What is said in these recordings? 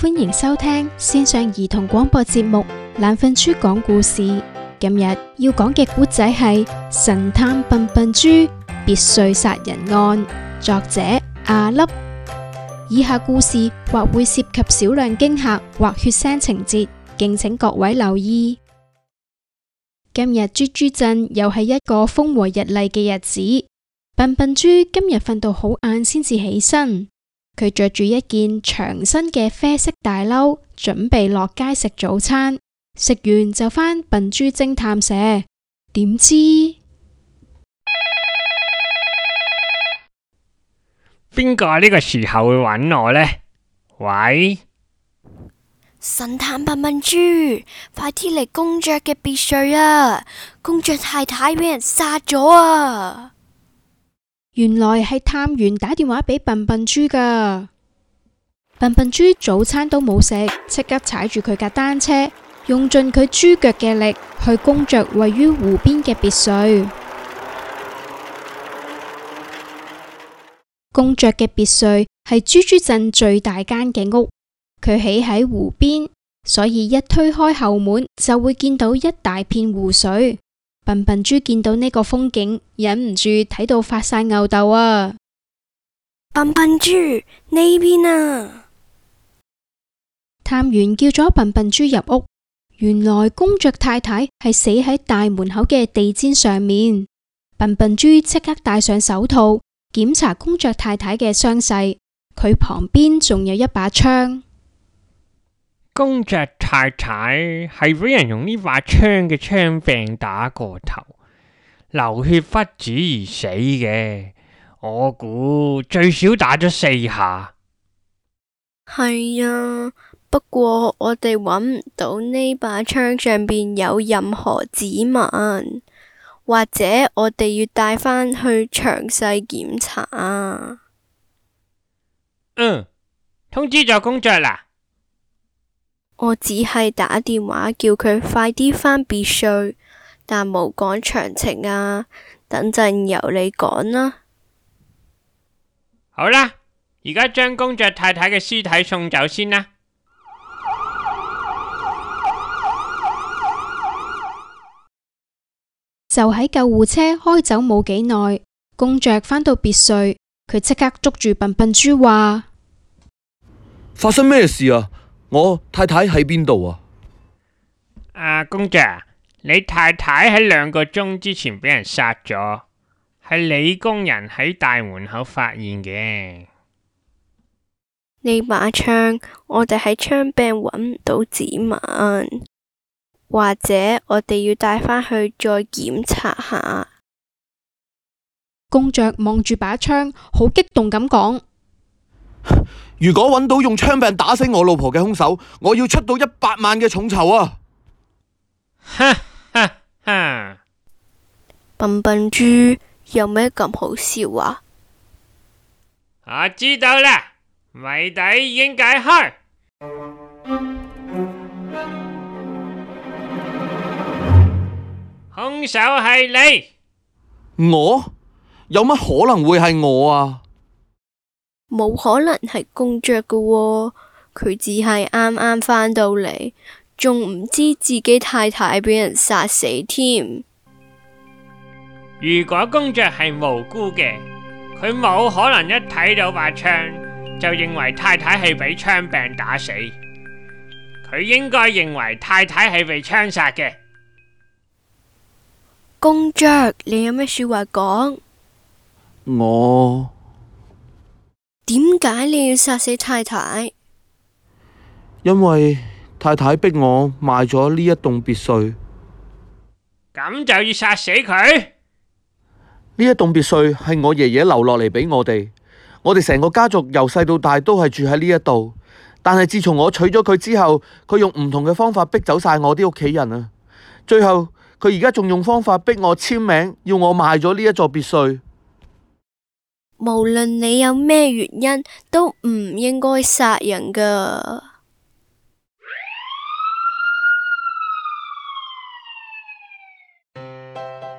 歡迎收聽線上兒童廣播節目《懶瞓豬講故事》。今日要講嘅故仔係《神探笨笨豬別墅殺人案》，作者阿粒。以下故事或會涉及少量驚嚇或血腥情節，敬請各位留意。今日豬豬鎮又係一個風和日麗嘅日子，笨笨豬今日瞓到好晏先至起身。佢着住一件長身嘅啡色大褸，準備落街食早餐。食完就返笨豬偵探社，點知邊個呢個時候會揾我呢？喂， 神探笨笨豬，快啲嚟公爵嘅別墅啊！公爵太太俾人殺咗啊！ 原來係探員打電話俾笨笨豬㗎。笨笨豬早餐都冇食，即刻踩住佢架單車，用盡佢豬腳嘅力去公爵位於湖邊嘅別墅。公爵嘅別墅係豬豬鎮最大間嘅屋，佢起喺湖邊，所以一推開後門就會見到一大片湖水。笨笨豬見到呢個風景，忍唔住睇到發晒吽哣啊！ 笨笨豬，呢邊啊！ 探員叫咗笨笨豬入屋，原來公爵太太係死喺大門口嘅地氈上面。笨笨豬即刻戴上手套，檢查公爵太太嘅傷勢。佢旁邊仲有一把槍。 公爵太太係俾人用呢把槍嘅槍柄打過頭，流血不止而死嘅。我估最少打咗4下。 係啊，不過我哋揾唔到呢把槍上邊有任何指紋，或者我哋要帶返去詳細檢查啊。 通知咗公爵啦。 我只係打電話叫佢快啲返別墅，但冇講詳情啊。等陣由你講啦。 好啦，而家將公爵太太嘅屍體送走先啦。 就喺救護車開走冇幾耐，公爵返到別墅，佢即刻捉住笨笨豬話： 發生咩事啊？我太太喺邊度啊？ 公爵，你太太喺2個鐘之前俾人殺咗，係你工人喺大門口發現嘅。 呢把槍，我哋喺槍柄揾唔到指紋，或者我哋要帶返去再檢查下。 公爵望住把槍，好激動咁講： 如果揾到用槍柄打死我老婆嘅兇手，我要出到100萬嘅重酬啊！ 哈哈哈！ 笨笨豬，有咩咁好笑啊？ 我知道啦，謎底已經解開。兇手係你。 我？有乜可能會係我啊？ 冇可能係公爵㗎喎，佢只係啱啱返到嚟，仲唔知自己太太俾人殺死添。 如果公爵係無辜嘅，佢冇可能一睇到把槍就認為太太係俾槍柄打死，佢應該認為太太係被槍殺嘅。 公爵，你有咩說話講？ 我點解你要殺死太太？ 因為太太逼我賣咗呢一棟別墅。 咁就要殺死佢？ 呢一棟別墅係我爺爺留落嚟俾我哋成個家族由細到大都係住喺呢一度。但係自從我娶咗佢之後，佢用唔同嘅方法逼走晒我啲屋企人啊！最後佢而家仲用方法逼我簽名，要我賣咗呢一座別墅。 無論你有咩原因，都唔應該殺人㗎。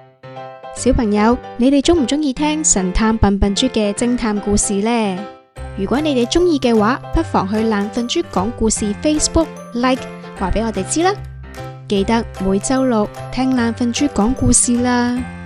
小朋友，你哋鍾唔鍾意聽神探笨笨豬嘅偵探故事呢？ 如果你哋鍾意嘅話，不妨去懶瞓豬講故事 Facebook like 話俾我哋知啦。記得每週6聽懶瞓豬講故事啦。